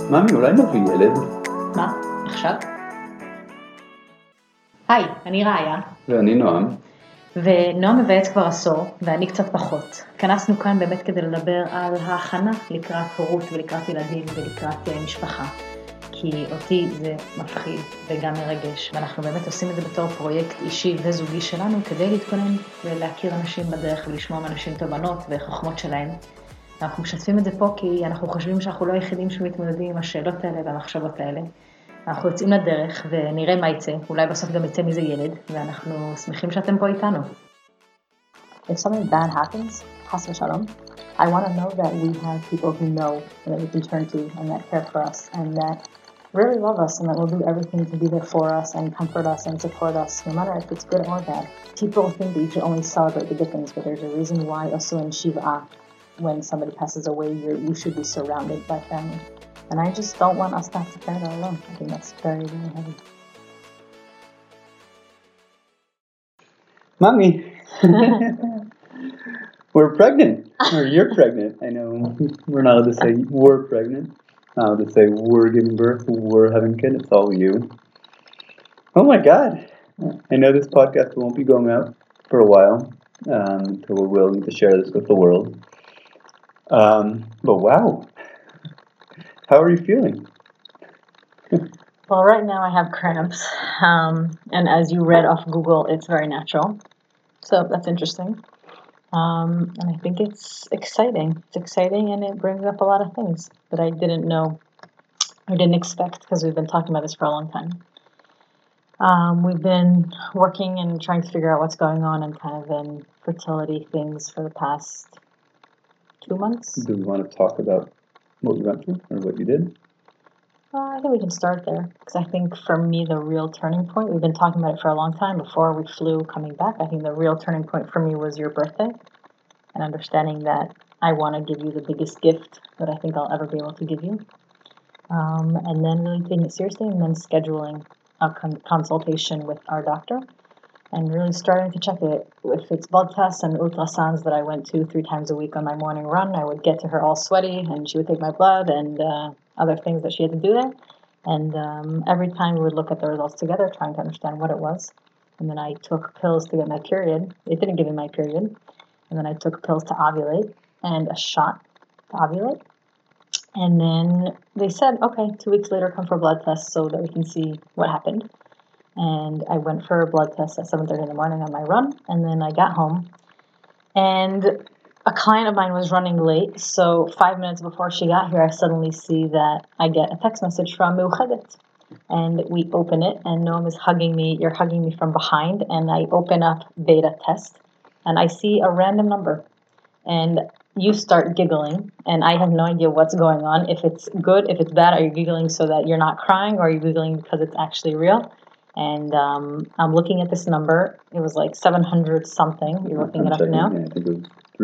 ממי, אולי נביא ילד? מה? עכשיו? היי, אני ראיה. ואני נועם. ונועם מבייץ כבר עשור, ואני קצת פחות. התכנסנו כאן באמת כדי לדבר על ההכנה לקראת הורות ולקראת ילדים ולקראת משפחה. כי אותי זה מפחיד וגם מרגש, ואנחנו באמת עושים את זה בתור פרויקט אישי וזוגי שלנו, כדי להתכונן ולהכיר אנשים בדרך ולשמוע מאנשים תובנות וחוכמות שלהם. אנחנו משתפים את זה פה כי אנחנו חושבים שאנחנו לא היחידים שמתמודדים עם השאלות האלה והמחשבות האלה. אנחנו יוצאים לדרך ונראה מה יצא, אולי בסוף גם יצא מזה ילד, ואנחנו שמחים שאתם פה איתנו. If something bad happens, chas v'shalom, I want to know that we have people who know and that we can turn to and that care for us and that really love us and that will do everything to be there for us and comfort us and support us, no matter if it's good or bad. People think that you should only celebrate the good things, but there's a reason why also in Shiva, when somebody passes away, you should be surrounded by family. And I just don't want us to have to carry that alone. I think that's very, very heavy. Mommy, we're pregnant. Or you're pregnant. I know we're not allowed to say we're pregnant. Not allowed to say we're giving birth, we're having kids. It's all you. Oh my God. I know this podcast won't be going out for a while until we're willing to share this with the world. But wow. How are you feeling? Well, right now I have cramps, and as you read off Google, it's very natural. So that's interesting. And I think it's exciting. It's exciting, and it brings up a lot of things that I didn't know or didn't expect because we've been talking about this for a long time. We've been working and trying to figure out what's going on and kind of in fertility things for the past 2 months. Do we want to talk about what we went through or what you did? I think we can start there because I think for me the real turning point, we've been talking about it for a long time before we flew coming back. I think the real turning point for me was your birthday and understanding that I want to give you the biggest gift that I think I'll ever be able to give you. And then really taking it seriously and then scheduling a consultation with our doctor and really starting to check it. If it's blood tests and ultrasounds that I went to 3 times a week on my morning run, I would get to her all sweaty and she would take my blood and other things that she had to do there. And every time we would look at the results together, trying to understand what it was. And then I took pills to get my period. It didn't give me my period. And then I took pills to ovulate and a shot to ovulate. And then they said, okay, 2 weeks later, come for a blood test so that we can see what happened. And I went for a blood test at 7:30 in the morning on my run. And then I got home. And a client of mine was running late. So 5 minutes before she got here, I suddenly see that I get a text message from Meuchedet. And we open it, and Noam is hugging me. You're hugging me from behind. And I open up beta test. And I see a random number. And you start giggling, and I have no idea what's going on. If it's good, if it's bad, are you giggling so that you're not crying, or are you giggling because it's actually real? And I'm looking at this number. It was like 700 something. You're looking it up now. Yeah, I think it was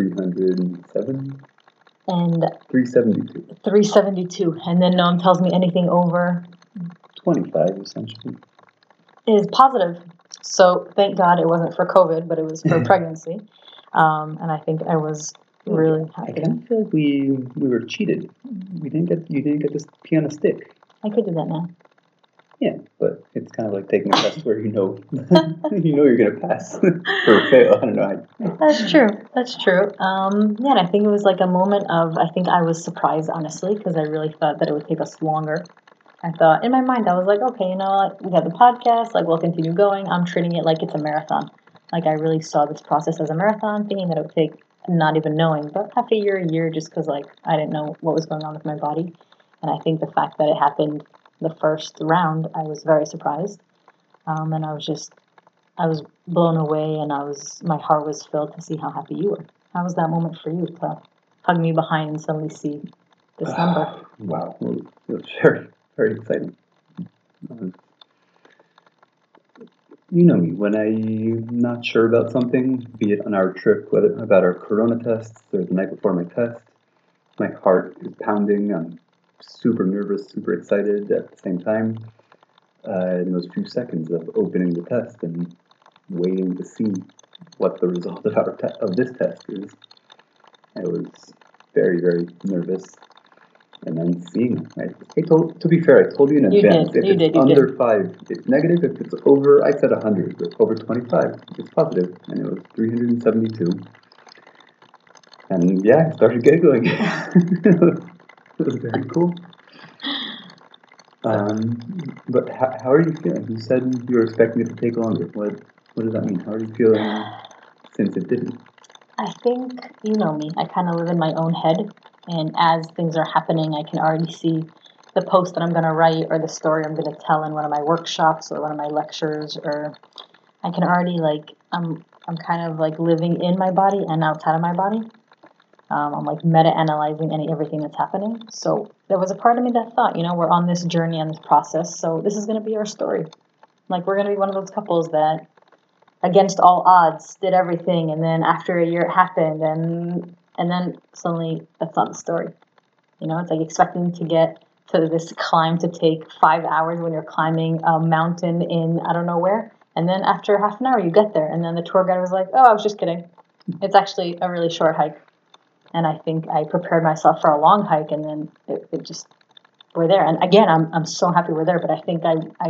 307. And 372. 372. And then Noam tells me anything over 25 essentially. is positive. So thank God it wasn't for COVID, but it was for pregnancy. And I think I was really happy. I kind of feel like we were cheated. You didn't get this pee on a stick. I could do that now. Yeah, but it's kind of like taking a test where you know you're gonna pass or fail. I don't know. That's true. That's true. Yeah, and I think it was like a moment of, I think I was surprised, honestly, because I really thought that it would take us longer. I thought, in my mind, I was like, okay, you know what, we have the podcast, like, we'll continue going. I'm treating it like it's a marathon. Like, I really saw this process as a marathon, thinking that it would take, not even knowing, but half a year, just because, like, I didn't know what was going on with my body. And I think the fact that it happened the first round, I was very surprised. And I was blown away, and my heart was filled to see how happy you were. How was that moment for you to hug me behind and suddenly see this number? Wow, it was very, very exciting. You know me, when I'm not sure about something, be it on our trip, whether about our corona tests or the night before my test, my heart is pounding. I'm super nervous, super excited at the same time. In those few seconds of opening the test and waiting to see what the result of this test is, I was very, very nervous. and then seeing. To be fair, I told you in You advance. did, If you it's did, you under did. 5, it's negative. If it's over, I said 100. But over 25, it's positive, and it was 372. And yeah, I started giggling. It was very cool. But how are you feeling? You said you were expecting it to take longer. What does that mean? How are you feeling since it didn't? I think, you know me, I kind of live in my own head, and as things are happening, I can already see the post that I'm going to write or the story I'm going to tell in one of my workshops or one of my lectures, or I can already, like, I'm kind of like living in my body and outside of my body. I'm like meta-analyzing everything that's happening. So there was a part of me that thought, we're on this journey and this process, so this is going to be our story. Like, we're going to be one of those couples that, against all odds, did everything, and then after a year it happened, and then suddenly that's not the story. It's like expecting to get to this climb to take 5 hours when you're climbing a mountain in I don't know where, and then after half an hour you get there, and then the tour guide was like, "Oh, I was just kidding. It's actually a really short hike." And I think I prepared myself for a long hike, and then it just we're there. And again, I'm so happy we're there. But I think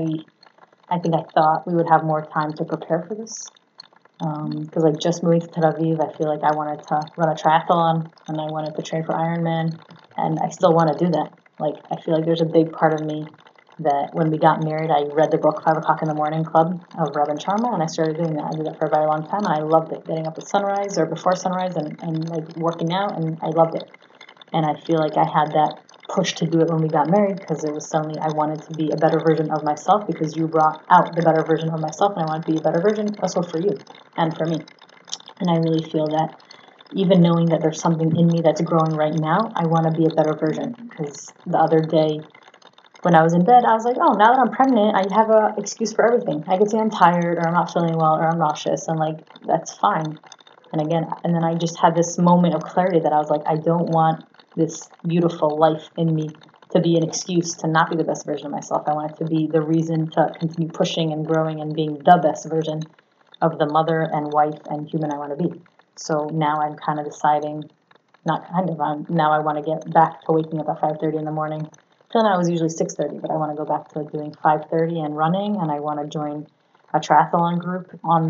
I thought we would have more time to prepare for this. Because like just moving to Tel Aviv, I feel like I wanted to run a triathlon and I wanted to train for Ironman, and I still want to do that. Like, I feel like there's a big part of me that when we got married, I read the book 5 o'clock in the morning club of Rabban Sharma, and I started doing that. I did that for a very long time, and I loved it. Getting up at sunrise or before sunrise and like working out, and I loved it. And I feel like I had that push to do it when we got married, because it was suddenly I wanted to be a better version of myself, because you brought out the better version of myself, and I wanted to be a better version also for you and for me. And I really feel that even knowing that there's something in me that's growing right now, I want to be a better version. Because the other day when I was in bed, I was like, oh, now that I'm pregnant, I have an excuse for everything. I could say I'm tired, or I'm not feeling well, or I'm nauseous, and like, that's fine. And then I just had this moment of clarity that I was like, I don't want this beautiful life in me to be an excuse to not be the best version of myself. I want it to be the reason to continue pushing and growing and being the best version of the mother and wife and human I want to be. So now I'm kind of deciding, now I want to get back to waking up at 5:30 in the morning. Till now I was usually 6:30, but I want to go back to doing 5:30 and running, and I want to join a triathlon group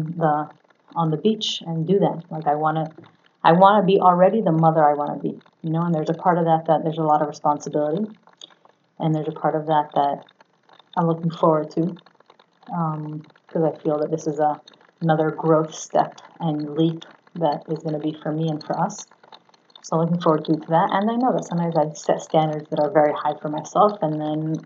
on the beach and do that. Like, I want to be already the mother I want to be, and there's a part of that there's a lot of responsibility, and there's a part of that I'm looking forward to, because I feel that this is another growth step and leap that is going to be for me and for us. So looking forward to that. And I know that sometimes I set standards that are very high for myself, and then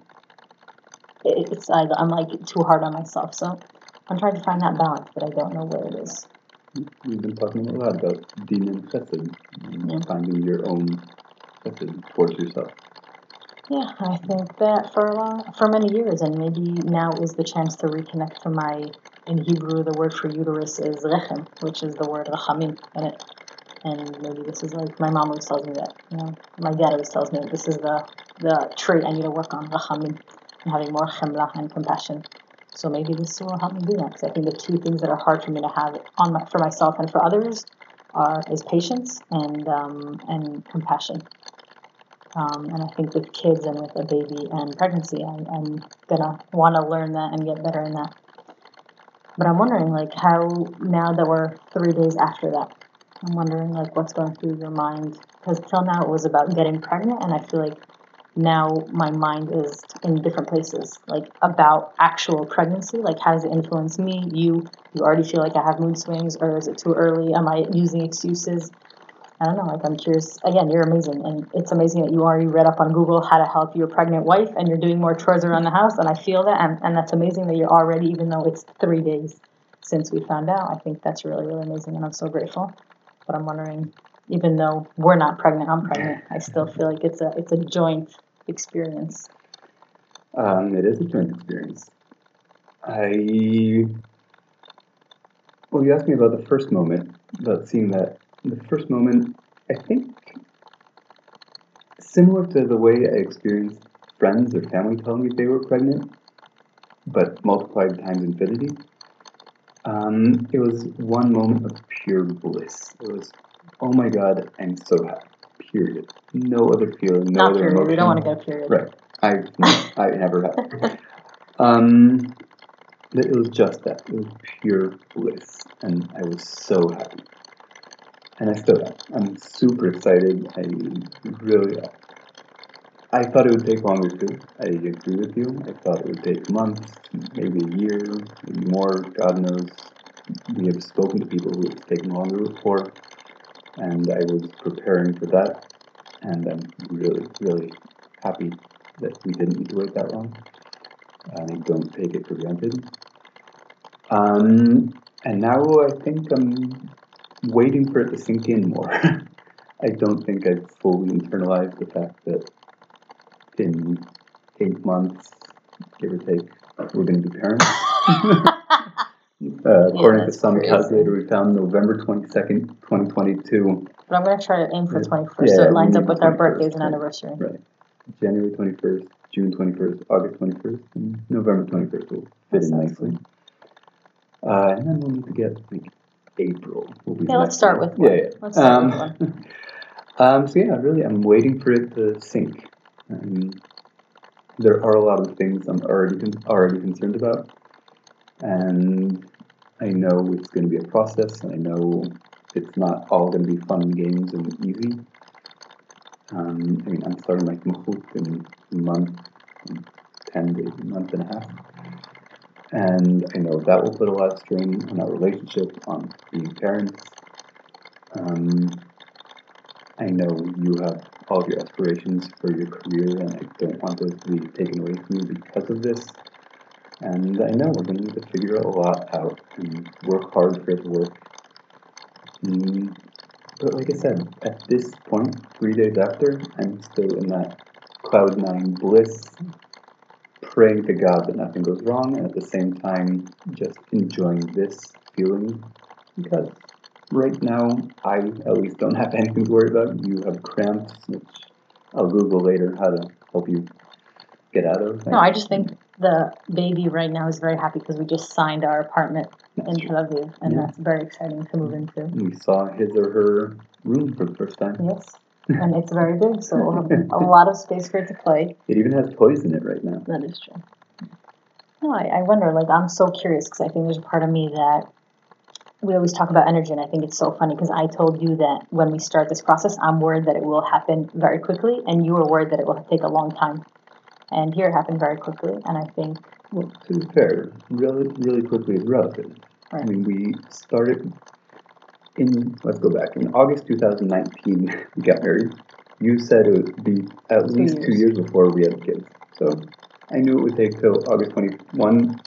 I'm like too hard on myself. So I'm trying to find that balance, but I don't know where it is. We've been talking a lot about din and chesed, and finding your own chesed towards yourself. Yeah, I think that for many years, and maybe now is the chance to reconnect to in Hebrew, the word for uterus is rechem, which is the word rachamim in it. And maybe this is like, my mom always tells me that, my dad always tells me that this is the trait I need to work on, rachamim, and having more chemla and compassion. So maybe this will help me do that, because I think the two things that are hard for me to have for myself and for others is patience and compassion. And I think with kids and with a baby and pregnancy, I'm gonna want to learn that and get better in that. But I'm wondering, like, how, now that we're 3 days after that, I'm wondering, like, what's going through your mind? Because till now it was about getting pregnant, and I feel like now my mind is in different places, like about actual pregnancy. Like, how does it influence me? You already feel like I have mood swings, or is it too early? Am I using excuses? I don't know, like, I'm curious. Again, you're amazing, and it's amazing that you already read up on Google how to help your pregnant wife, and you're doing more chores around the house, and I feel that, and that's amazing that you're already, even though it's 3 days since we found out. I think that's really, really amazing, and I'm so grateful. But I'm wondering, even though we're not pregnant, I'm pregnant, I still feel like it's a joint experience. It is a joint experience. Well, you asked me about the first moment, about seeing that. The first moment, I think, similar to the way I experienced friends or family telling me they were pregnant, but multiplied times infinity. It was one moment of pure bliss. It was, oh my God, I'm so happy. period. No other feeling, no Not other period. emotion. We don't want to get a period. Right. I never have. It was just that. It was pure bliss, and I was so happy. And I still am. I'm super excited. I thought it would take longer too. I agree with you. I thought it would take months, maybe a year, maybe more. God knows. We have spoken to people who it's taken longer before, and I was preparing for that. And I'm really, really happy that we didn't need to wait that long. And I don't take it for granted. And now I think I'm waiting for it to sink in more. I don't think I've fully internalized the fact that in 8 months, give or take, we're going to be parents. According to some calculator, we found November 22nd, 2022. But I'm going to try to aim for 21st, Yeah, so it lines up with our 21st, birthdays and right. anniversary. Right. January 21st, June 21st, August 21st, and November 21st will fit in nicely. And then we'll need to get like April. Let's start with one. Yeah. Let's start with one. So yeah, really, I'm waiting for it to sink. There are a lot of things I'm already concerned about, and I know it's going to be a process, and I know it's not all going to be fun games and easy. I'm starting my tmuchut in a month, 10 days, a month and a half. And I know that will put a lot of strain on our relationship, on being parents. I know you have all of your aspirations for your career, and I don't want those to be taken away from you because of this. And I know we're going to need to figure a lot out and work hard for it to work. But like I said, at this point, 3 days after, I'm still in that cloud nine bliss, praying to God that nothing goes wrong, and at the same time, just enjoying this feeling, because right now, I at least don't have anything to worry about. You have cramps, which I'll Google later how to help you get out of. No, I just think the baby right now is very happy because we just signed our apartment in Tel Aviv, and that's very exciting to move into. We saw his or her room for the first time. Yes, and it's very big, so we'll have a lot of space for it to play. It even has toys in it right now. That is true. No, I wonder, I'm so curious because I think there's a part of me that we always talk about energy, and I think it's so funny because I told you that when we start this process, I'm worried that it will happen very quickly, and you were worried that it will take a long time. And here it happened very quickly, and I think... Well, to be fair, really quickly is relative. Right. We started let's go back, in August 2019, we got married. You said it would be at least 2 years before we had kids. So I knew it would take till August 21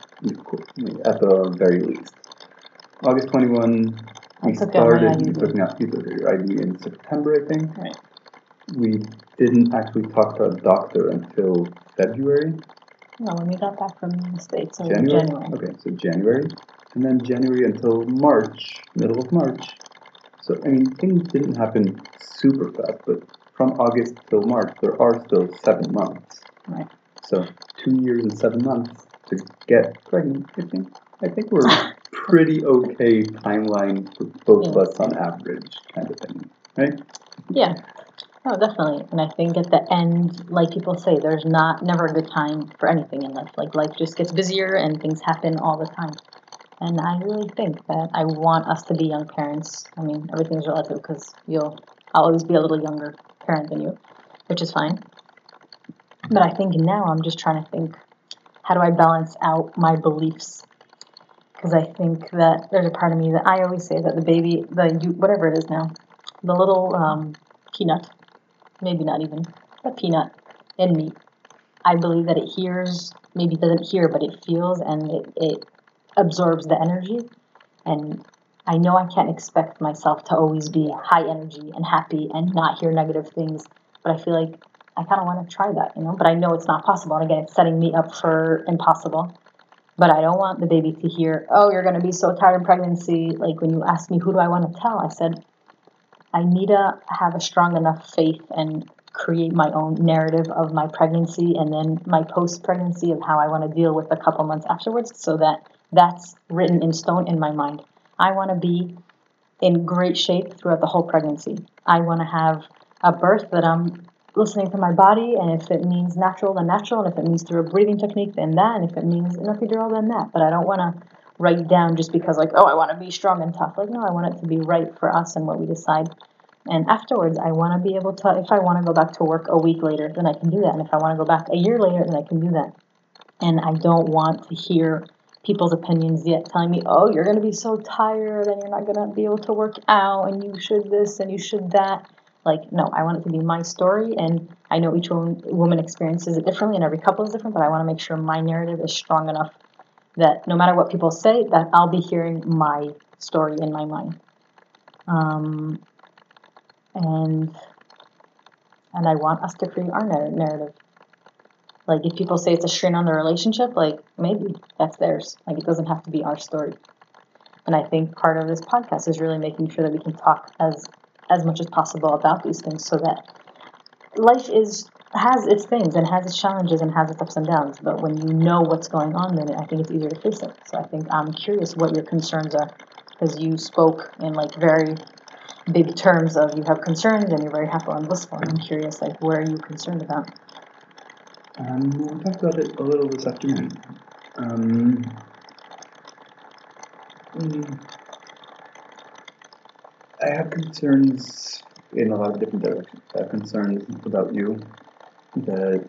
at the very least. August 21, we started, you took your ID in September, I think. Right. We didn't actually talk to a doctor until February. No, when we got back from the States, so January? January. Okay, so January. And then January until March, middle of March. So, things didn't happen super fast, but from August till March, there are still 7 months. Right. So, 2 years and 7 months to get pregnant, I think we're pretty okay timeline for both of us on average, kind of thing, right? Yeah. No, definitely. And I think at the end, like people say, there's never a good time for anything in life. Life just gets busier and things happen all the time. And I really think that I want us to be young parents. Everything's relative because I'll always be a little younger parent than you, which is fine. But I think now I'm just trying to think, how do I balance out my beliefs? Because I think that there's a part of me that I always say that the baby, whatever it is now, the little peanut, maybe not even a peanut in me, I believe that it hears, maybe it doesn't hear, but it feels, and it absorbs the energy. And I know I can't expect myself to always be high energy and happy and not hear negative things, but I feel like I kind of want to try that, but I know it's not possible. And again, it's setting me up for impossible. But I don't want the baby to hear, oh, you're going to be so tired in pregnancy. Like when you asked me, who do I want to tell? I said, I need to have a strong enough faith and create my own narrative of my pregnancy and then my post-pregnancy of how I want to deal with a couple months afterwards so that that's written in stone in my mind. I want to be in great shape throughout the whole pregnancy. I want to have a birth, that I'm listening to my body, and if it means natural, then natural, and if it means through a breathing technique, then that, and if it means an epidural, then that. But I don't want to write down just because, like, oh, I want to be strong and tough. Like, no, I want it to be right for us and what we decide. And afterwards, I want to be able to, if I want to go back to work a week later, then I can do that. And if I want to go back a year later, then I can do that. And I don't want to hear people's opinions yet telling me, oh, you're going to be so tired and you're not going to be able to work out and you should this and you should that. Like, no, I want it to be my story, and I know each woman experiences it differently and every couple is different, but I want to make sure my narrative is strong enough that no matter what people say, that I'll be hearing my story in my mind. And I want us to create our narrative. Like, if people say it's a strain on the relationship, like, maybe that's theirs. Like, it doesn't have to be our story. And I think part of this podcast is really making sure that we can talk as much as possible about these things, so that life has its things and has its challenges and has its ups and downs. But when you know what's going on, then I think it's easier to face it. So I think I'm curious what your concerns are, because you spoke in like very big terms of you have concerns and you're very happy and blissful. And I'm curious, like, what are you concerned about? We'll talk about it a little this afternoon. I have concerns in a lot of different directions. I have concerns about you, that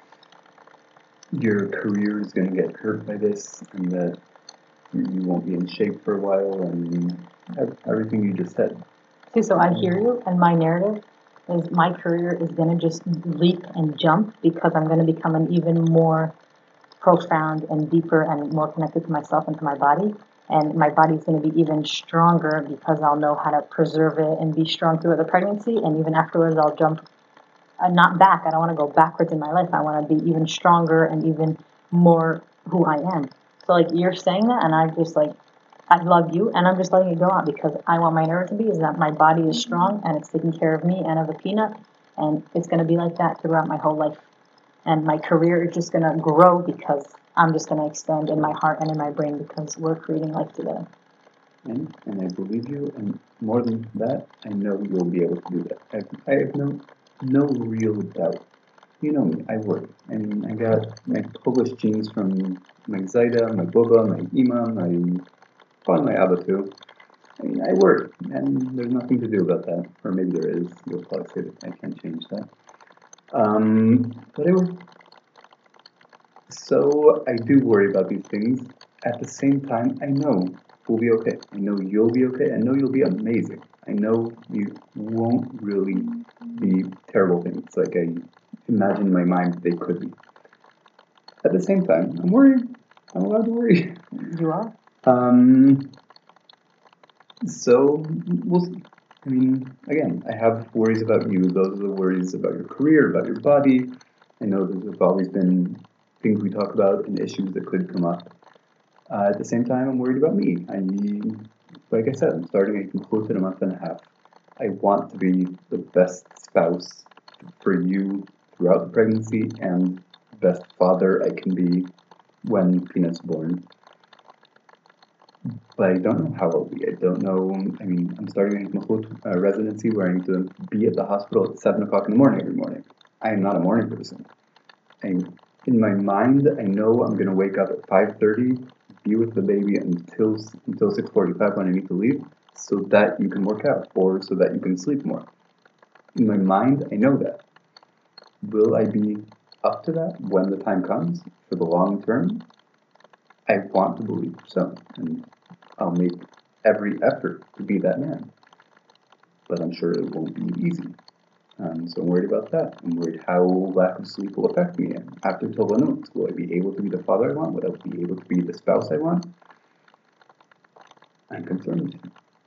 your career is going to get hurt by this, and that you won't be in shape for a while, and everything you just said. See, so I hear you, and my narrative is my career is going to just leap and jump because I'm going to become an even more profound and deeper and more connected to myself and to my body. And my body's going to be even stronger because I'll know how to preserve it and be strong throughout the pregnancy. And even afterwards, I'll jump, not back. I don't want to go backwards in my life. I want to be even stronger and even more who I am. So, like, you're saying that, and I just, like, I love you, and I'm just letting it go out because I want my narrative to be is that my body is strong and it's taking care of me and of the peanut, and it's going to be like that throughout my whole life. And my career is just going to grow because I'm just going to expand in my heart and in my brain because we're creating life together. And I believe you, and more than that, I know you'll be able to do that. I have no real doubt. You know me, I work. I mean, I got my Polish genes from my Zaida, my Boba, my Ima, probably my Abba too. I mean, I work, and there's nothing to do about that. Or maybe there is. You'll probably say that I can't change that. But I work. So I do worry about these things. At the same time, I know we'll be okay. I know you'll be okay. I know you'll be amazing. I know you won't really be terrible things like I imagine in my mind they could be. At the same time, I'm worried. I'm allowed to worry. You are? So we'll see. I mean, again, I have worries about you. Those are the worries about your career, about your body. I know there's always been things we talk about and issues that could come up. At the same time, I'm worried about me. Like I said, I'm starting a close in a month and a half. I want to be the best spouse for you throughout the pregnancy and the best father I can be when Peanut's born. But I don't know how I'll be. I don't know. I mean, I'm starting a residency where I need to be at the hospital at 7 o'clock in the morning every morning. I am not a morning person. In my mind, I know I'm going to wake up at 5:30, be with the baby until 6:45 when I need to leave, so that you can work out or so that you can sleep more. In my mind, I know that. Will I be up to that when the time comes for the long term? I want to believe so, and I'll make every effort to be that man. But I'm sure it won't be easy. So I'm worried about that. I'm worried how lack of sleep will affect me. And after Tovanut, will I be able to be the father I want? Will I be able to be the spouse I want? I'm concerned.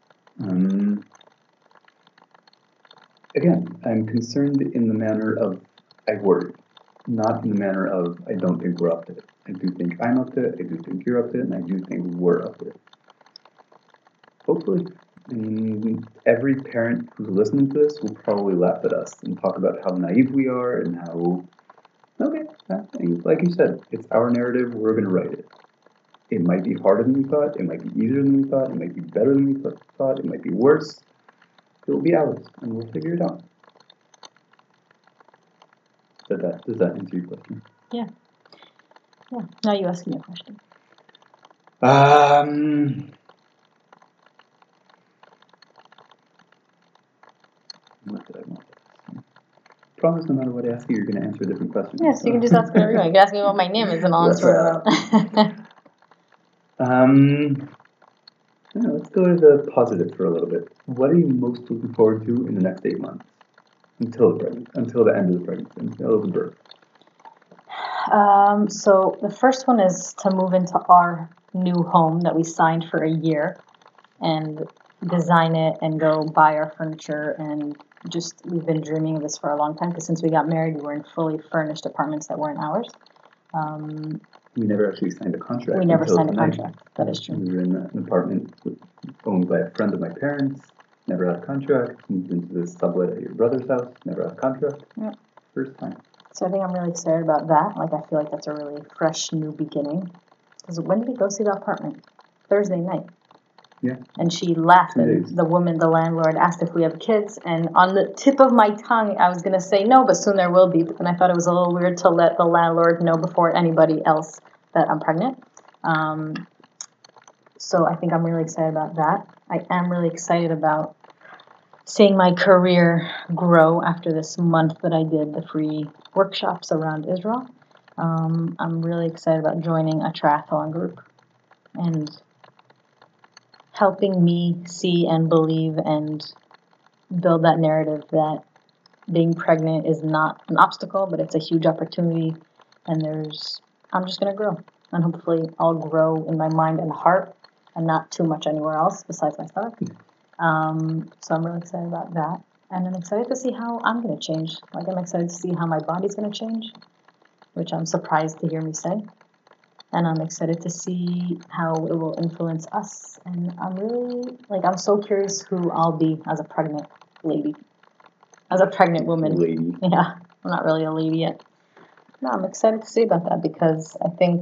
Again, I'm concerned in the manner of I worry, not in the manner of I don't think we're up to it. I do think I'm up to it, I do think you're up to it, and I do think we're up to it. Hopefully. I mean, every parent who's listening to this will probably laugh at us and talk about how naive we are and how, okay, like you said, it's our narrative, we're going to write it. It might be harder than we thought, it might be easier than we thought, it might be better than we thought, it might be worse. It will be ours, and we'll figure it out. Does that answer your question? Yeah. Now you ask me a question. What did I want to ask? Promise no matter what I ask you, you're going to answer a different question. Yes, you can just ask me whatever you want. You can ask me what my name is and I'll answer it. Let's go to the positive for a little bit. What are you most looking forward to in the next 8 months? Until the end of the pregnancy, until the birth. So the first one is to move into our new home that we signed for a year and design it and go buy our furniture, and just we've been dreaming of this for a long time because since we got married we were in fully furnished apartments that weren't ours. We never actually signed a contract. We never signed a contract. That is true. We were in an apartment owned by a friend of my parents. Never had a contract. Moved into this sublet at your brother's house. Never had a contract. Yep. First time. So I think I'm really excited about that. Like I feel like that's a really fresh new beginning. Because when did we go see the apartment? Thursday night. Yeah. And she laughed, 2 and days. the landlord, asked if we have kids, and on the tip of my tongue, I was going to say no, but soon there will be, and I thought it was a little weird to let the landlord know before anybody else that I'm pregnant. So I think I'm really excited about that. I am really excited about seeing my career grow after this month that I did the free workshops around Israel. I'm really excited about joining a triathlon group and helping me see and believe and build that narrative that being pregnant is not an obstacle, but it's a huge opportunity. And I'm just going to grow. And hopefully I'll grow in my mind and heart and not too much anywhere else besides my stomach. So I'm really excited about that. And I'm excited to see how I'm going to change. Like I'm excited to see how my body's going to change, which I'm surprised to hear me say. And I'm excited to see how it will influence us. And I'm so curious who I'll be as a pregnant lady. As a pregnant woman. Lady. Yeah, I'm not really a lady yet. No, I'm excited to see about that because I think,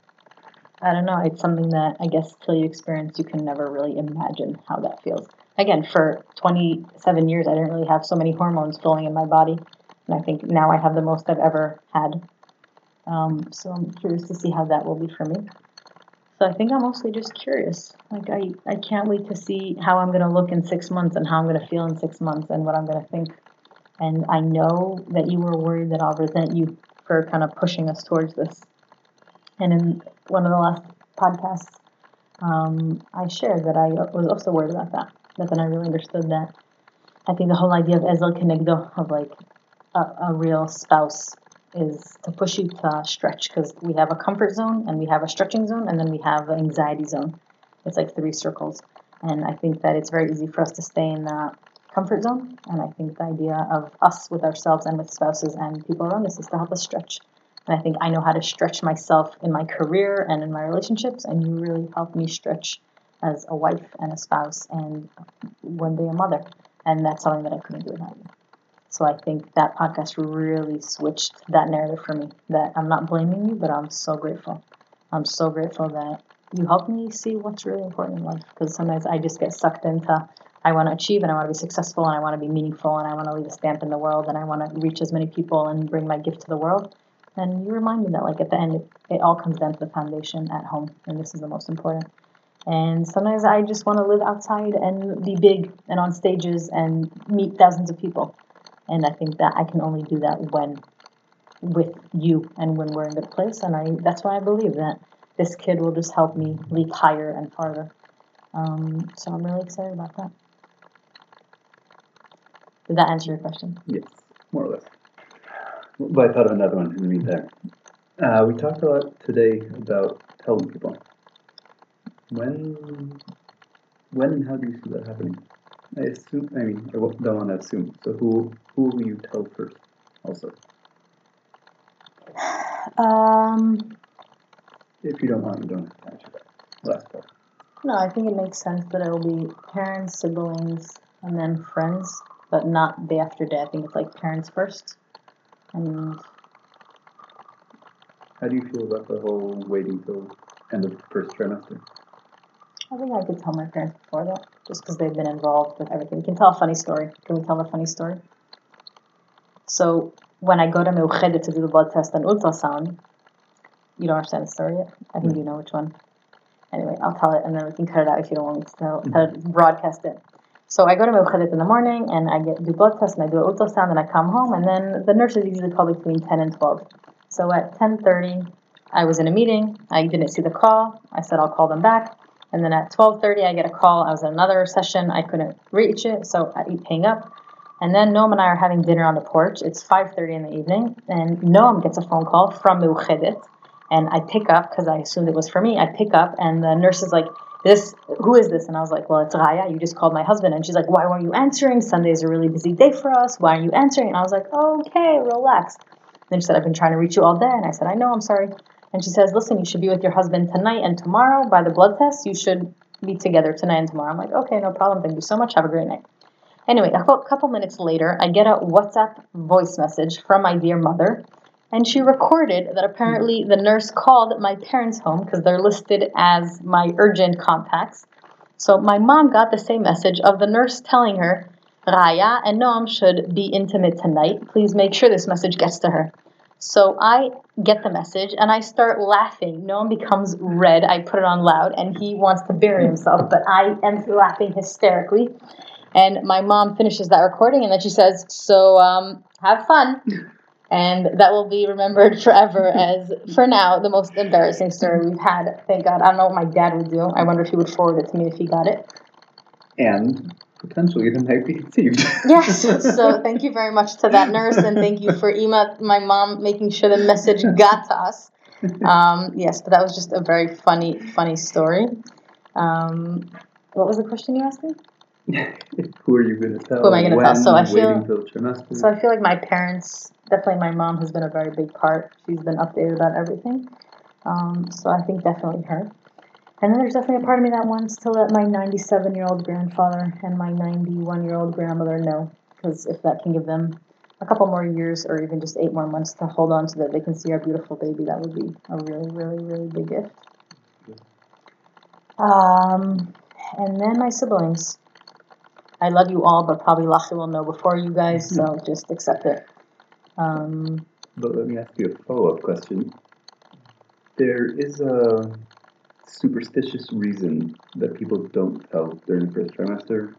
I don't know, it's something that I guess till you experience, you can never really imagine how that feels. Again, for 27 years, I didn't really have so many hormones flowing in my body. And I think now I have the most I've ever had. So I'm curious to see how that will be for me. So I think I'm mostly just curious. Like I can't wait to see how I'm going to look in 6 months and how I'm going to feel in 6 months and what I'm going to think. And I know that you were worried that I'll resent you for kind of pushing us towards this. And in one of the last podcasts, I shared that I was also worried about that. But then I really understood that. I think the whole idea of Ezel Kenegdo, of like a real spouse, is to push you to stretch, because we have a comfort zone and we have a stretching zone and then we have an anxiety zone. It's like 3 circles. And I think that it's very easy for us to stay in the comfort zone. And I think the idea of us with ourselves and with spouses and people around us is to help us stretch. And I think I know how to stretch myself in my career and in my relationships, and you really helped me stretch as a wife and a spouse and one day a mother. And that's something that I couldn't do without you. So I think that podcast really switched that narrative for me, that I'm not blaming you, but I'm so grateful. I'm so grateful that you helped me see what's really important in life, because sometimes I just get sucked into, I want to achieve and I want to be successful and I want to be meaningful and I want to leave a stamp in the world and I want to reach as many people and bring my gift to the world. And you remind me that like at the end, it all comes down to the foundation at home, and this is the most important. And sometimes I just want to live outside and be big and on stages and meet thousands of people. And I think that I can only do that when with you and when we're in a good place. And that's why I believe that this kid will just help me leap higher and farther. So I'm really excited about that. Did that answer your question? Yes, more or less. But I thought of another one in the meantime. We talked a lot today about telling people. When and how do you see that happening? I don't want to assume. So who will you tell first also? If you don't want, you don't have to answer that last part. No, I think it makes sense that it will be parents, siblings, and then friends, but not day after day. I think it's like parents first. And how do you feel about the whole waiting till end of first trimester? I think I could tell my parents before that, just because they've been involved with everything. We can tell a funny story. Can we tell a funny story? So when I go to Meuchedet to do the blood test and ultrasound, you don't understand the story yet? I think you know which one. Anyway, I'll tell it and then we can cut it out if you don't want me to broadcast it. So I go to Meuchedet in the morning and I do blood test and I do an ultrasound and I come home and then the nurses usually call between 10 and 12. So at 10:30, I was in a meeting. I didn't see the call. I said I'll call them back. And then at 12:30, I get a call. I was in another session. I couldn't reach it, so I hang up. And then Noam and I are having dinner on the porch. It's 5:30 in the evening, and Noam gets a phone call from Meuchedet, and I pick up because I assumed it was for me. I pick up, and the nurse is like, who is this? And I was like, well, it's Raya. You just called my husband. And she's like, why weren't you answering? Sunday's a really busy day for us. Why aren't you answering? And I was like, okay, relax. Then she said, I've been trying to reach you all day. And I said, I know, I'm sorry. And she says, listen, you should be with your husband tonight and tomorrow by the blood test. You should be together tonight and tomorrow. I'm like, okay, no problem. Thank you so much. Have a great night. Anyway, a couple minutes later, I get a WhatsApp voice message from my dear mother. And she recorded that apparently the nurse called my parents' home because they're listed as my urgent contacts. So my mom got the same message of the nurse telling her, Raya and Noam should be intimate tonight. Please make sure this message gets to her. So I get the message and I start laughing. Noam becomes red. I put it on loud and he wants to bury himself, but I am laughing hysterically. And my mom finishes that recording and then she says, so have fun. And that will be remembered forever as, for now, the most embarrassing story we've had. Thank God. I don't know what my dad would do. I wonder if he would forward it to me if he got it. And potentially the night be conceived. Yes. So thank you very much to that nurse, and thank you for my mom making sure the message got to us. Yes, but that was just a very funny story. What was the question you asked me? Who are you going to tell? Who am I going to tell? So I feel like my parents, definitely my mom has been a very big part. She's been updated about everything. So I think definitely her. And then there's definitely a part of me that wants to let my 97-year-old grandfather and my 91-year-old grandmother know, because if that can give them a couple more years or even just 8 more months to hold on so that they can see our beautiful baby, that would be a really, really, really big gift. And then my siblings. I love you all, but probably Lachi will know before you guys, so just accept it. But let me ask you a follow-up question. There is a superstitious reason that people don't tell during the first trimester.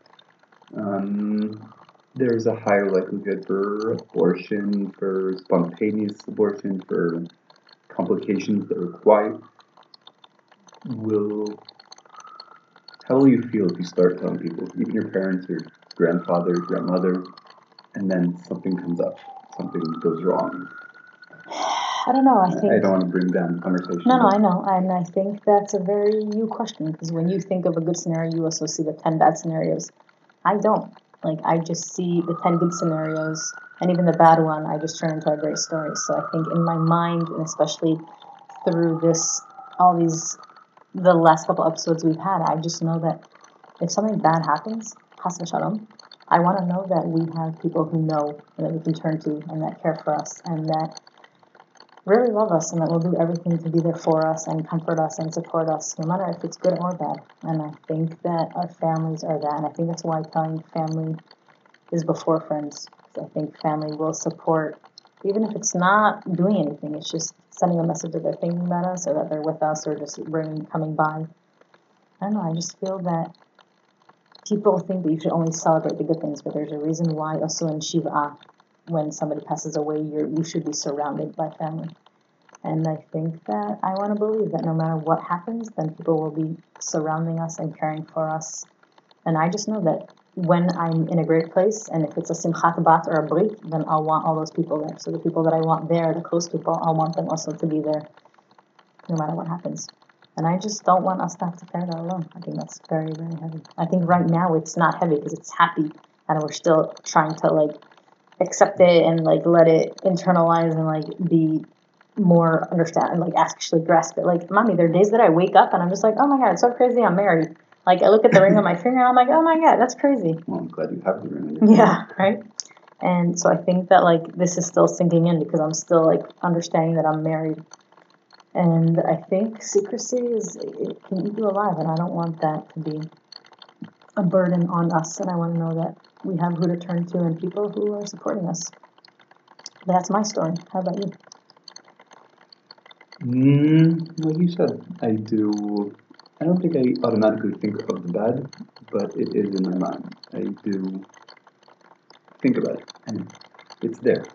There's a higher likelihood for abortion, for spontaneous abortion, for complications that are quiet. How will you feel if you start telling people, even your parents, your grandfather, grandmother, and then something comes up, something goes wrong? I don't know. I don't want to bring down the conversation. No, I know. And I think that's a very you question, because when you think of a good scenario, you also see the 10 bad scenarios. I don't. I just see the 10 good scenarios, and even the bad one, I just turn into a great story. So I think in my mind, and especially through the last couple episodes we've had, I just know that if something bad happens, chas v'shalom, I want to know that we have people who know and that we can turn to and that care for us and that really love us and that will do everything to be there for us and comfort us and support us, no matter if it's good or bad. And I think that our families are that, and I think that's why telling family is before friends. I think family will support, even if it's not doing anything, it's just sending a message that they're thinking about us or that they're with us or just coming by. I don't know, I just feel that people think that you should only celebrate the good things, but there's a reason why also in Shiva, when somebody passes away, you should be surrounded by family. And I think that I want to believe that no matter what happens, then people will be surrounding us and caring for us. And I just know that when I'm in a great place, and if it's a simchat bat or a brit, then I'll want all those people there. So the people that I want there, the close people, I'll want them also to be there, no matter what happens. And I just don't want us to have to carry that alone. I think that's very, very heavy. I think right now it's not heavy because it's happy, and we're still trying to accept it and let it internalize and be more understand and actually grasp it. Mommy, there are days that I wake up and I'm just oh my God, it's so crazy I'm married. I look at the ring on my finger and I'm oh my God, that's crazy. Well, I'm glad you have the ring on your finger. Yeah, right? And so I think that this is still sinking in because I'm still understanding that I'm married. And I think secrecy it can eat you alive, and I don't want that to be a burden on us, and I want to know that we have who to turn to and people who are supporting us. That's my story. How about you? Like you said, I don't think I automatically think of the bad, but it is in my mind. I do think about it, and it's there.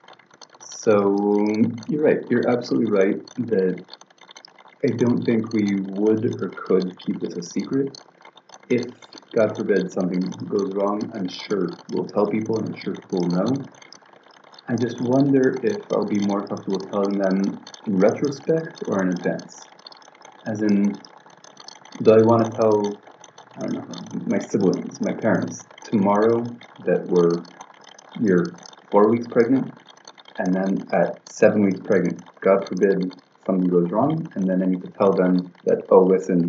So you're right. You're absolutely right that I don't think we would or could keep this a secret. If, God forbid, something goes wrong, I'm sure we'll tell people, and I'm sure people will know. I just wonder if I'll be more comfortable telling them in retrospect or in advance. As in, do I want to tell, I don't know, my siblings, my parents, tomorrow that we're 4 weeks pregnant, and then at 7 weeks pregnant, God forbid something goes wrong, and then I need to tell them that, oh, listen,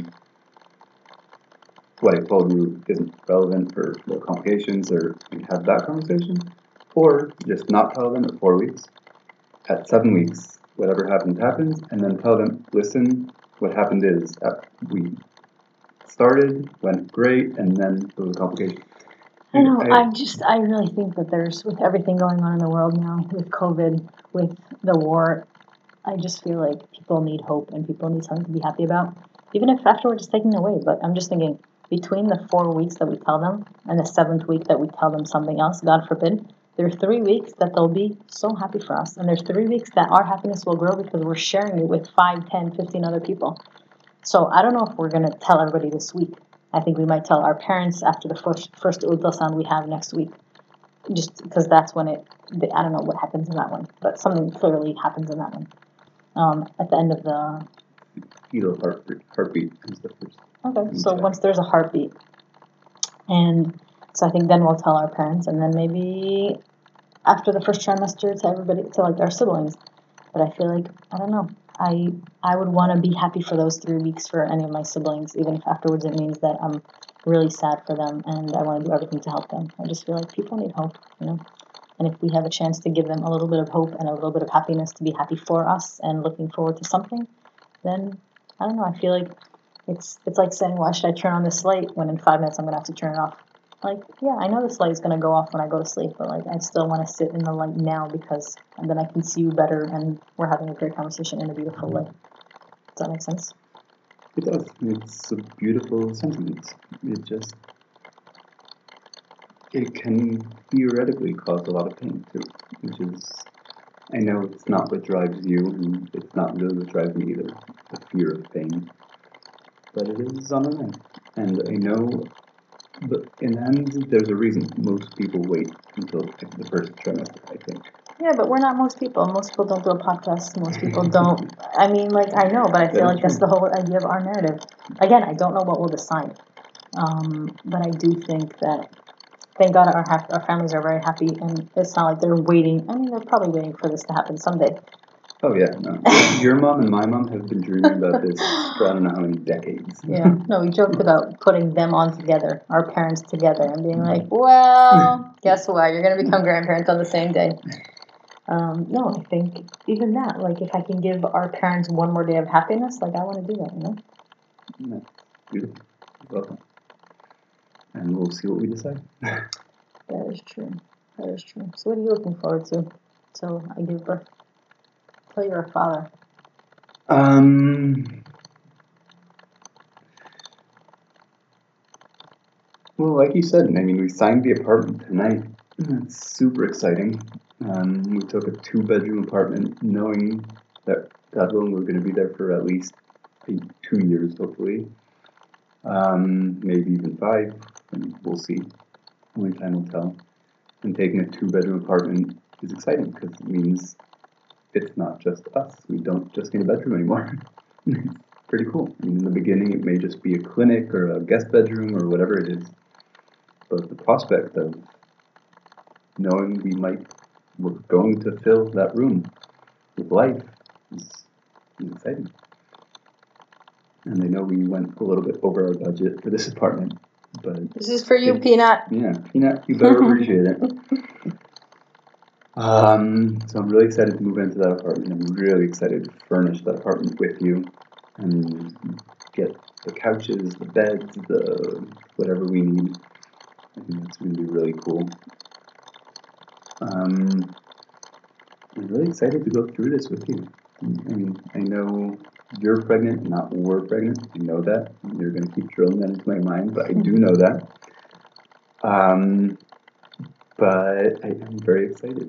what I told you isn't relevant or no complications, or we have that conversation, or just not tell them at 4 weeks. At 7 weeks, whatever happens, happens, and then tell them, listen, what happened is we started, went great, and then there was a complication. I know, I really think that with everything going on in the world now, with COVID, with the war, I just feel like people need hope and people need something to be happy about, even if afterwards it's taken away. But I'm just thinking, between the 4 weeks that we tell them and the 7th week that we tell them something else, God forbid, there are 3 weeks that they'll be so happy for us. And there's 3 weeks that our happiness will grow because we're sharing it with 5, 10, 15 other people. So I don't know if we're going to tell everybody this week. I think we might tell our parents after the first ultrasound we have next week. Just because that's when I don't know what happens in that one, but something clearly happens in that one. At the end of the fetal heartbeat is the first. Okay, so once there's a heartbeat, and so I think then we'll tell our parents, and then maybe after the first trimester to everybody, to like our siblings. But I feel like, I don't know, I would want to be happy for those 3 weeks for any of my siblings, even if afterwards it means that I'm really sad for them and I want to do everything to help them. I just feel like people need hope, you know? And if we have a chance to give them a little bit of hope and a little bit of happiness to be happy for us and looking forward to something, then, I don't know, I feel like it's like saying, why should I turn on this light when in 5 minutes I'm going to have to turn it off? Like, yeah, I know this light is going to go off when I go to sleep, but like, I still want to sit in the light now because then I can see you better and we're having a great conversation in a beautiful light. Does that make sense? It does. It's a beautiful sentiment. It can theoretically cause a lot of pain too, which is, I know it's not what drives you, and it's not really what drives me either, the fear of pain, but it is on my mind. And I know, but in the end, there's a reason most people wait until the first trimester, I think. Yeah, but we're not most people. Most people don't do a podcast. Most people don't. I mean, like, I know, but I feel like that's the whole idea of our narrative. Again, I don't know what we'll decide. But I do think that, thank God our families are very happy, and it's not like they're waiting. I mean, they're probably waiting for this to happen someday. Oh, yeah, no. Your mom and my mom have been dreaming about this for I don't know how many decades. Yeah, no, we joked about putting them on together, our parents together, and being like, well, guess what? You're going to become grandparents on the same day. No, I think even that, like, if I can give our parents one more day of happiness, like, I want to do that, you know? Yeah, beautiful. Welcome. And we'll see what we decide. That is true. That is true. So what are you looking forward to till I give birth? Till you're a father. Well, like you said, I mean, we signed the apartment tonight. That's super exciting. We took a 2-bedroom apartment knowing that, God willing, we're going to be there for at least 2 years, hopefully. Maybe even 5. And we'll see. Only time will tell. And taking a 2-bedroom apartment is exciting because it means it's not just us. We don't just need a bedroom anymore. It's pretty cool. I mean, in the beginning, it may just be a clinic or a guest bedroom or whatever it is. But the prospect of knowing we're going to fill that room with life is exciting. And I know we went a little bit over our budget for this apartment, but this is for you, Peanut. Yeah, Peanut, you better appreciate it. So I'm really excited to move into that apartment. I'm really excited to furnish that apartment with you and get the couches, the beds, the whatever we need. I think that's going to be really cool. I'm really excited to go through this with you. I mean, I know you're pregnant, not we're pregnant. I know that. You're going to keep drilling that into my mind, but I do know that. But I am very excited.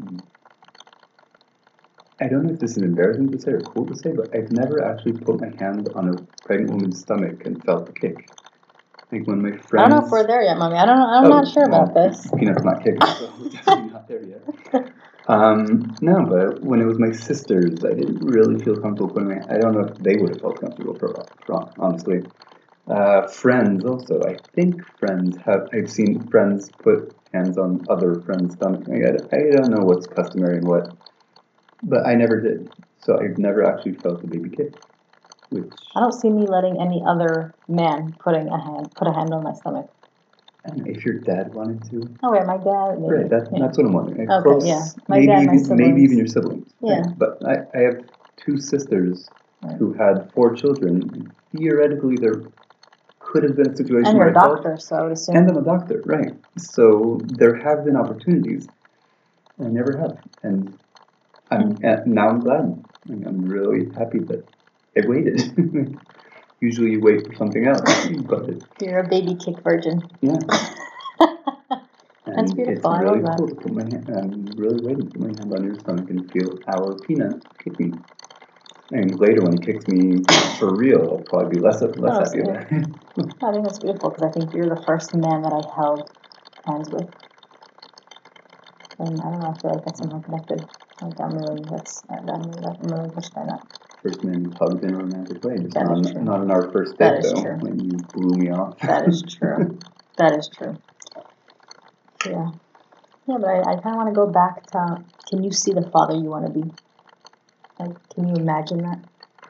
I don't know if this is embarrassing to say or cool to say, but I've never actually put my hand on a pregnant woman's stomach and felt the kick. Like when my friends... I don't know if we're there yet, Mommy. I'm not sure about this. Peanut's not kicking, so we're definitely not there yet. No, but when it was my sisters, I didn't really feel comfortable putting my... I don't know if they would have felt comfortable, honestly. Friends also. I think friends have... I've seen friends put hands on other friends' stomach. I don't know what's customary and what... But I never did. So I've never actually felt a baby kick. Which... I don't see me letting any other man put a hand on my stomach. I don't know if your dad wanted to. Oh wait, my dad. Maybe. Right, that's what I'm wondering. Okay, Close, yeah. My dad, my siblings. Maybe even your siblings. Yeah. Right. But I have two sisters who had 4 children. Theoretically, there could have been a situation and where you're a doctor, so I would assume. And I'm a doctor, right. So there have been opportunities. I never have. And now I'm glad. I'm really happy that I waited. Usually you wait for something else. But you're a baby kick virgin. Yeah. That's beautiful. It's really I love cool that. to put my hand. I'm really waiting to put my hand on your stomach and feel our Peanut kick me. And later when he kicks me for real, I'll probably be less happy about it. I think that's beautiful because I think you're the first man that I held hands with. And I don't know, I feel like that's somehow connected. Like I'm really touched by that. First man who hugged in a romantic way. Just That is true. Not on our first date, though. True. When you blew me off. That is true. That is true. Yeah. Yeah, but I kind of want to go back to, can you see the father you want to be? Like, can you imagine that?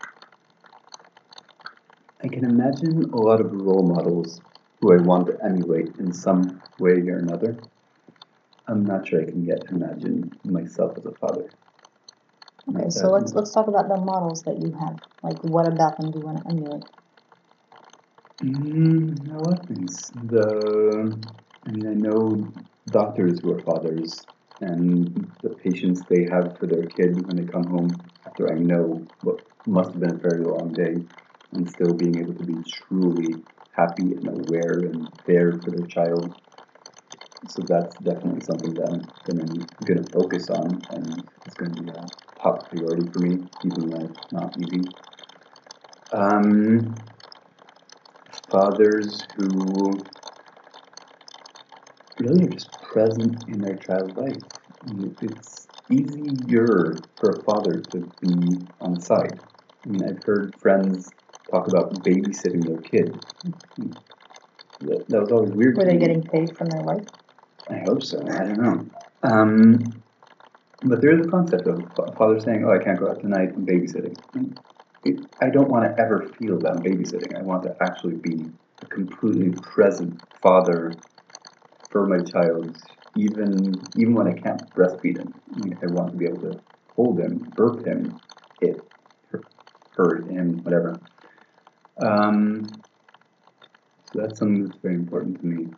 I can imagine a lot of role models who I want to emulate in some way or another. I'm not sure I can yet imagine myself as a father. Okay, so let's talk about the models that you have. Like, what about them do you want to emulate? A lot of things. I know doctors who are fathers, and the patience they have for their kid when they come home after I know what must have been a very long day, and still being able to be truly happy and aware and there for their child. So that's definitely something that I'm going to focus on, and it's going to be a top priority for me, even when it's not easy. Fathers who really are just present in their child's life. It's easier for a father to be on the side. I've heard friends talk about babysitting their kid. That was always weird. Were they getting paid from their wife? I hope so. I don't know. But there is a concept of a father saying, "Oh, I can't go out tonight. I'm babysitting." I don't want to ever feel that I'm babysitting. I want to actually be a completely present father for my child, even when I can't breastfeed him. I want to be able to hold him, burp him, her, him, whatever. So that's something that's very important to me.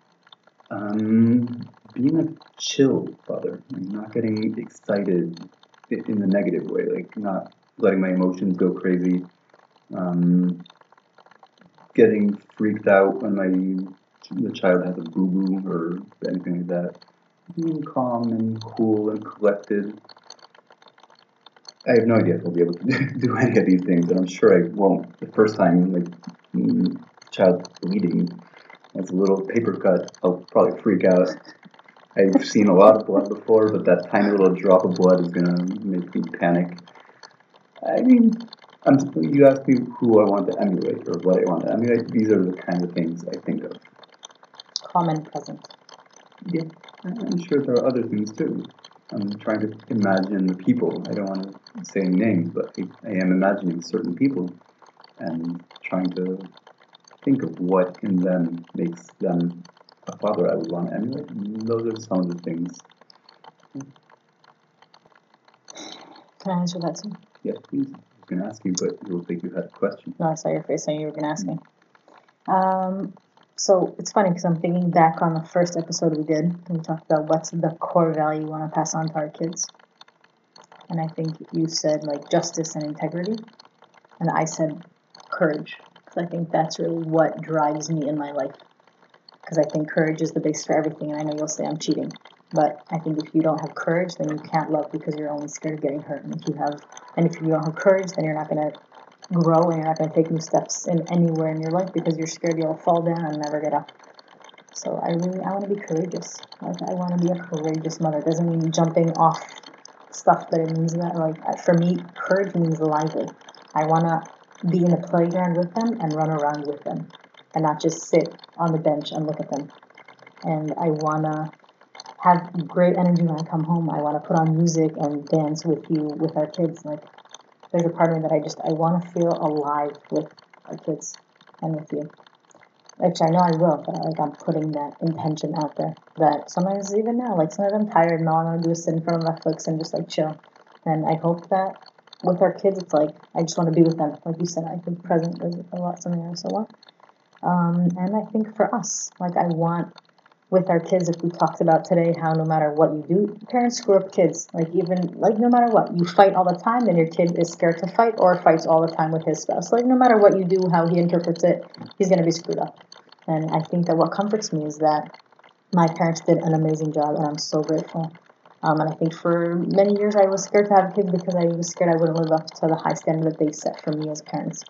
Being a chill father, not getting excited in the negative way, like not letting my emotions go crazy, getting freaked out when the child has a boo-boo or anything like that. Being calm and cool and collected. I have no idea if I'll be able to do any of these things, and I'm sure I won't. The first time, child bleeding, that's a little paper cut, I'll probably freak out. I've seen a lot of blood before, but that tiny little drop of blood is gonna make me panic. You asked me who I want to emulate or what I want to emulate. These are the kind of things I think of. Calm and present. Yeah, I'm sure there are other things too. I'm trying to imagine the people. I don't want to say any names, but I am imagining certain people and trying to think of what in them makes them a father I would want to emulate. And those are some of the things. Can I answer that too? Yes, please. I was going to ask you, but it will think you had a question. No, I saw your face saying you were going to ask me. So it's funny because I'm thinking back on the first episode we did. We talked about what's the core value we want to pass on to our kids. And I think you said like justice and integrity, and I said courage. Because I think that's really what drives me in my life. Because I think courage is the base for everything, and I know you'll say I'm cheating. But I think if you don't have courage, then you can't love because you're only scared of getting hurt. And if you don't have courage, then you're not going to grow and you're not going to take new steps in anywhere in your life because you're scared you'll fall down and never get up. So I want to be courageous. Like I want to be a courageous mother. It doesn't mean jumping off stuff, but it means that for me, courage means lively. I want to be in the playground with them and run around with them and not just sit on the bench and look at them. And I want to have great energy when I come home. I want to put on music and dance with you, with our kids. Like, there's a part of me that I want to feel alive with our kids and with you. Which I know I will, but I'm putting that intention out there. That sometimes, even now, sometimes I'm tired and all I want to do is sit in front of Netflix and just chill. And I hope that with our kids, it's I just want to be with them. Like you said, I think present is something I also want. And I think for us, I want with our kids, if we talked about today how no matter what you do, parents screw up kids. No matter what, you fight all the time, then your kid is scared to fight or fights all the time with his spouse. No matter what you do, how he interprets it, he's going to be screwed up. And I think that what comforts me is that my parents did an amazing job, and I'm so grateful. And I think for many years I was scared to have kids because I was scared I wouldn't live up to the high standard that they set for me as parents.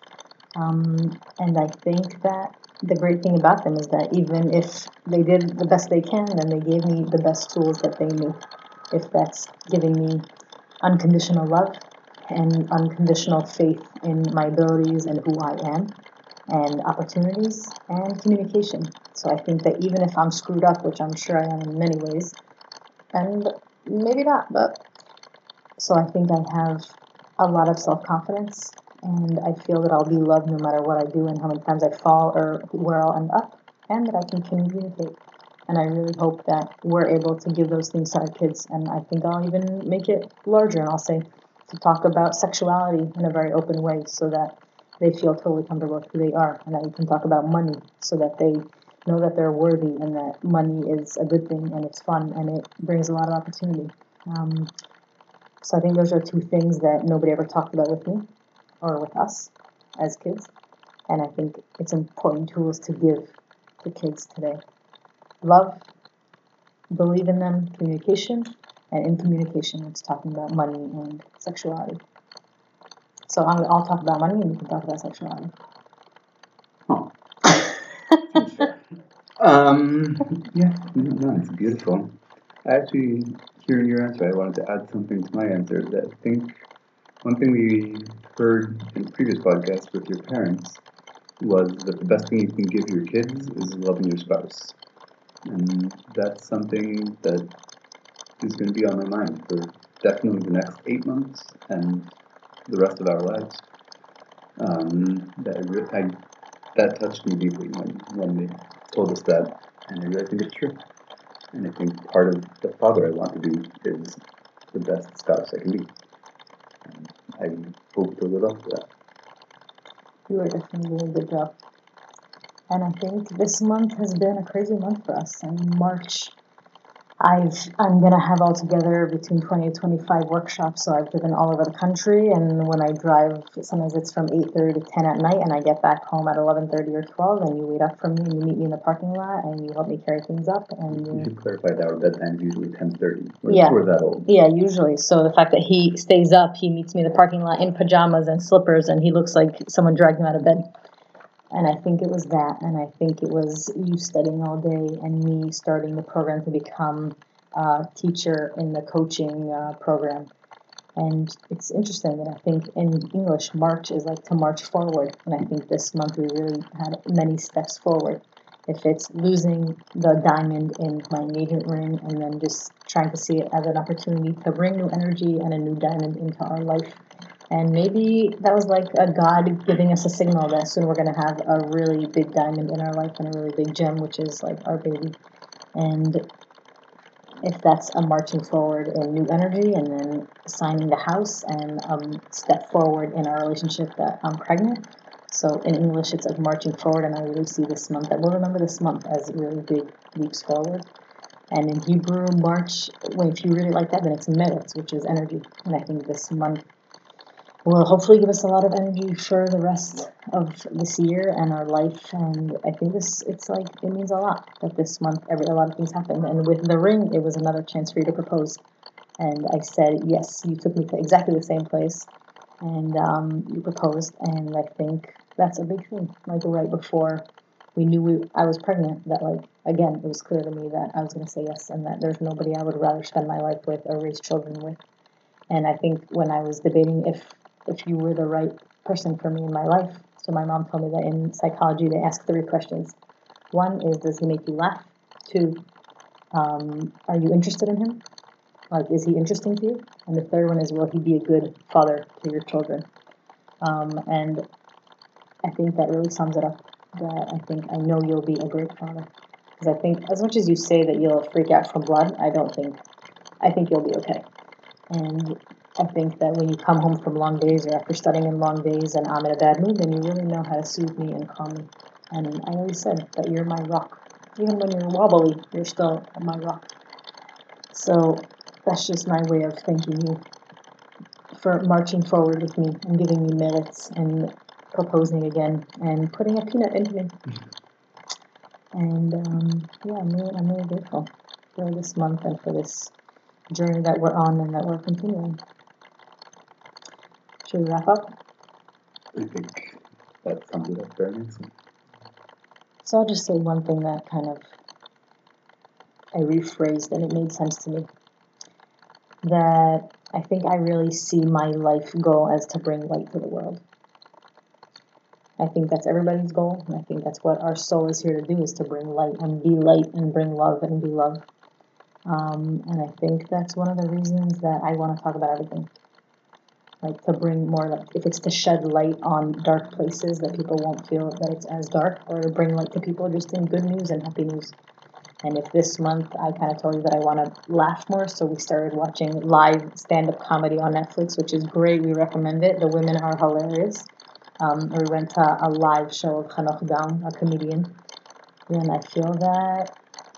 And I think that the great thing about them is that even if they did the best they can, then they gave me the best tools that they knew. If that's giving me unconditional love and unconditional faith in my abilities and who I am, and opportunities and communication. So I think that even if I'm screwed up, which I'm sure I am in many ways, and maybe not, but so I think I have a lot of self-confidence, and I feel that I'll be loved no matter what I do and how many times I fall or where I'll end up, and that I can communicate. And I really hope that we're able to give those things to our kids, and I think I'll even make it larger, and I'll say to talk about sexuality in a very open way so that they feel totally comfortable with who they are, and that we can talk about money so that they know that they're worthy and that money is a good thing and it's fun and it brings a lot of opportunity. So I think those are two things that nobody ever talked about with me or with us as kids, and I think it's important tools to give to kids today. Love, believe in them, communication, and in communication it's talking about money and sexuality. So I'll talk about money and you can talk about sexuality. Oh. Yeah, no, it's beautiful. Actually, hearing your answer, I wanted to add something to my answer. That I think one thing we heard in previous podcasts with your parents was that the best thing you can give your kids is loving your spouse. And that's something that is going to be on my mind for definitely the next 8 months and the rest of our lives. That touched me deeply when they told us that, and I really think it's true. And I think part of the father I want to be is the best spouse I can be. And I hope to live up to that. You are definitely doing a good job. And I think this month has been a crazy month for us. In March, I'm going to have altogether between 20 and 25 workshops, so I've driven all over the country, and when I drive, sometimes it's from 8:30 to 10 at night, and I get back home at 11:30 or 12, and you wait up for me, and you meet me in the parking lot, and you help me carry things up. And you should clarify that our bedtime is usually 10:30. Yeah. We're that old. Yeah, usually. So the fact that he stays up, he meets me in the parking lot in pajamas and slippers, and he looks like someone dragged him out of bed. And I think it was that, and I think it was you studying all day and me starting the program to become a teacher in the coaching program. And it's interesting that I think in English, March is to march forward, and I think this month we really had many steps forward. If it's losing the diamond in my engagement ring and then just trying to see it as an opportunity to bring new energy and a new diamond into our life. And maybe that was a God giving us a signal that soon we're going to have a really big diamond in our life and a really big gem, which is our baby. And if that's a marching forward in new energy and then signing the house and step forward in our relationship that I'm pregnant. So in English, it's marching forward, and I really see this month, that we'll remember this month as really big leaps forward. And in Hebrew, March, if you really like that, then it's Meretz, which is energy. And I think this month will hopefully give us a lot of energy for the rest of this year and our life. And I think it means a lot that this month a lot of things happened. And with the ring, it was another chance for you to propose. And I said, yes, you took me to exactly the same place. And you proposed. And I think that's a big thing. Like right before we knew I was pregnant, that again, it was clear to me that I was going to say yes, and that there's nobody I would rather spend my life with or raise children with. And I think when I was debating if you were the right person for me in my life, so my mom told me that in psychology they ask 3 questions. 1 is, does he make you laugh? 2, are you interested in him? Is he interesting to you? And the 3rd one is, will he be a good father to your children? And I think that really sums it up. That I know you'll be a great father. Because I think as much as you say that you'll freak out from blood, I think you'll be okay. And I think that when you come home from long days or after studying in long days and I'm in a bad mood, then you really know how to soothe me and calm me. And I always said that you're my rock. Even when you're wobbly, you're still my rock. So that's just my way of thanking you for marching forward with me and giving me merits and proposing again and putting a peanut into me. And I'm really grateful for this month and for this journey that we're on and that we're continuing. Should we wrap up? I think that sums it up very nicely. So I'll just say one thing that kind of I rephrased and it made sense to me. That I think I really see my life goal as to bring light to the world. I think that's everybody's goal, and I think that's what our soul is here to do, is to bring light and be light and bring love and be love. And I think that's one of the reasons that I want to talk about everything. To bring more light. If it's to shed light on dark places that people won't feel that it's as dark, or to bring light to people just in good news and happy news. And if this month I kind of told you that I want to laugh more, so we started watching live stand-up comedy on Netflix, which is great. We recommend it. The women are hilarious. We went to a live show of Hanoch Daum, a comedian. And I feel that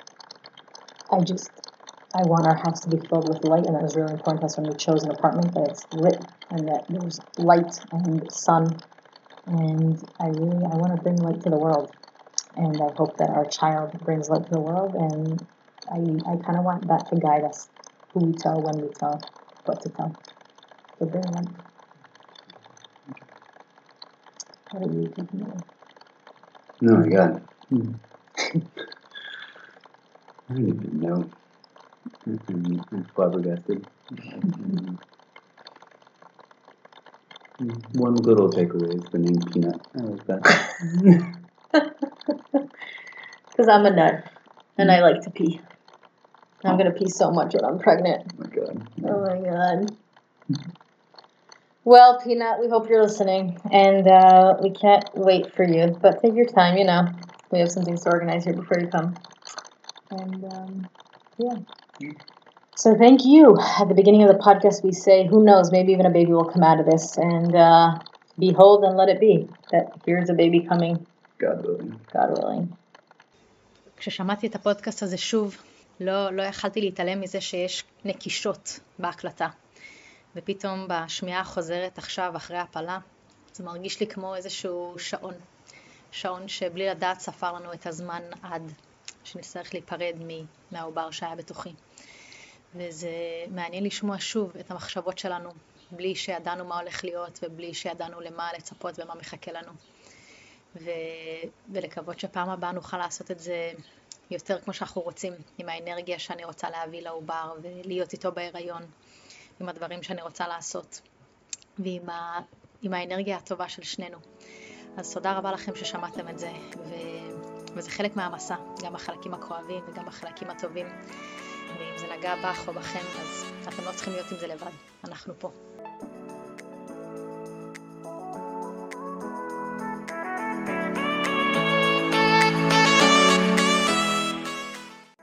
I want our house to be filled with light, and that was really important to us when we chose an apartment, that it's lit and that there's light and sun. And I want to bring light to the world. And I hope that our child brings light to the world, and I kind of want that to guide us, who we tell, when we tell, what to tell. So bring light. What are you thinking of? No, my God. I don't even know. I'm flabbergasted. One little takeaway is the name Peanut. I like that. Because I'm a nut, and I like to pee. I'm going to pee so much when I'm pregnant. Oh my God. Oh my God. Well, Peanut, we hope you're listening, and we can't wait for you, but take your time, we have some things to organize here before you come. And so thank you. At the beginning of the podcast we say, who knows, maybe even a baby will come out of this, and behold and let it be, that here's a baby coming. God willing. God willing. כששמעתי את הפודקאסט הזה שוב, לא יכלתי להתעלם מזה שיש נקישות בהקלטה. ופתאום בשמיעה החוזרת עכשיו אחרי הפלה, זה מרגיש לי כמו איזשהו שעון שבלי לדעת ספר לנו את הזמן עד שנצטרך להיפרד מהעובר שהיה בתוכי. וזה מעניין לשמוע שוב את המחשבות שלנו, בלי שידענו מה הולך להיות ובלי שידענו למה לצפות ומה מחכה לנו. ולקוות שפעם הבאה נוכל לעשות את זה יותר כמו שאנחנו רוצים, עם האנרגיה שאני רוצה להביא לעובר ולהיות איתו בהיריון, עם הדברים שאני רוצה לעשות, ועם האנרגיה הטובה של שנינו. אז תודה רבה לכם ששמעתם את זה, וזה חלק מהמסע, גם החלקים הכואבים וגם החלקים הטובים. ואם זה נגע בך או בכם, אז אתם לא צריכים להיות עם זה לבד, אנחנו פה.